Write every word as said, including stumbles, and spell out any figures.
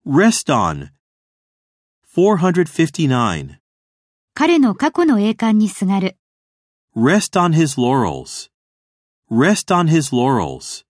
Rest on. four fifty-nine. 彼の過去の栄冠にすがる。 Rest on his laurels. Rest on his laurels.